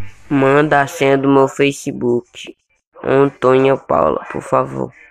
Manda a senha do meu Facebook. Antônia Paula, por favor.